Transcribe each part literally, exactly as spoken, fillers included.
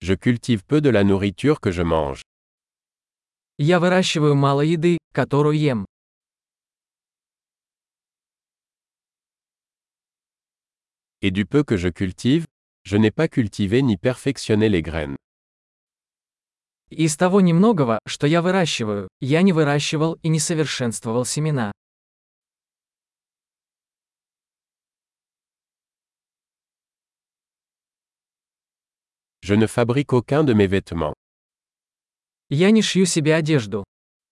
Je cultive peu de la nourriture que je mange. Я выращиваю мало еды, которую ем. Et du peu que je cultive, je n'ai pas cultivé ni perfectionné les graines. Из того немногого, что я выращиваю, я не выращивал и не совершенствовал семена. Je ne fabrique aucun de mes vêtements. Я не шью себе одежду.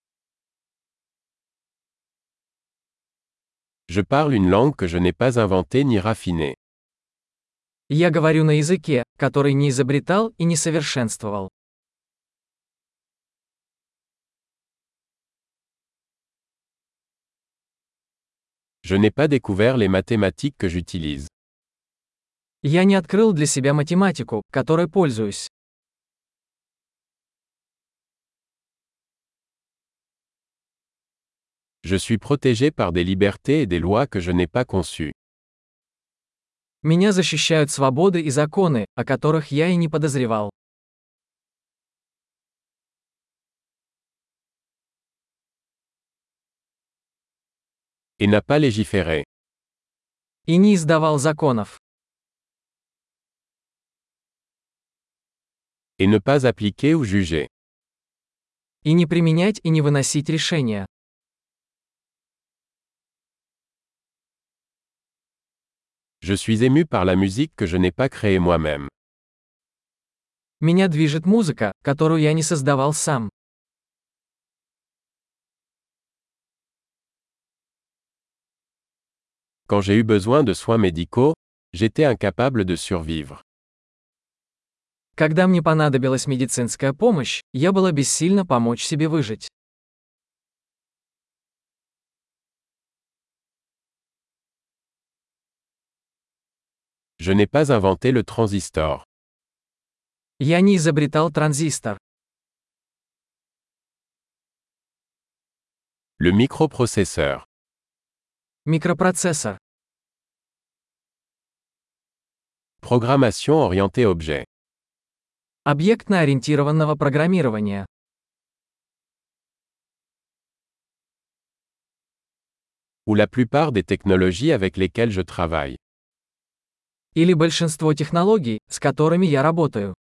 Je parle une langue que je n'ai pas inventée ni raffinée. Я говорю на языке, который не изобретал и не совершенствовал. Je n'ai pas découvert les mathématiques que j'utilise. Я не открыл для себя математику, которой пользуюсь. Je suis protégé par des libertés et des lois que je n'ai pas conçues. Меня защищают свободы и законы, о которых я и не подозревал. Et n'a pas légiféré. И не издавал законов. Et ne pas appliquer ou juger. И не применять и не выносить решения. Je suis ému par la musique que je n'ai pas créée moi-même. Меня движет музыка, которую я не создавал сам. Quand j'ai eu besoin de soins médicaux, j'étais incapable de survivre. Когда мне понадобилась медицинская помощь, я была бессильна помочь себе выжить. Je n'ai pas inventé le transistor. Я не изобретал транзистор. Le microprocesseur. Микропроцессор. Programmation orientée objet. Объектно-ориентированного программирования. Ou la plupart des technologies avec lesquelles je travaille. Или большинство технологий, с которыми я работаю.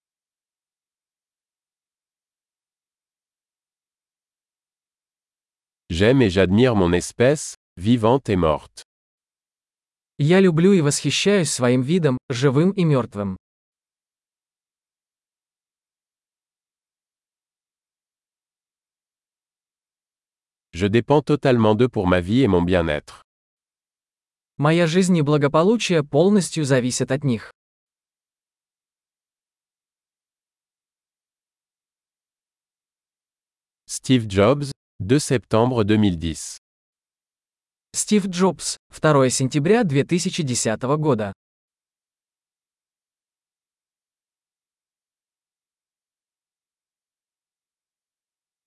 J'aime et j'admire mon espèce, vivante et morte. Я люблю и восхищаюсь своим видом, живым и мертвым. Je dépends totalement d'eux pour ma vie et mon bien-être. Моя жизнь и благополучие полностью зависят от них. Steve Jobs, deux septembre deux mille dix. Стив Джобс, второе сентября две тысячи десятого года.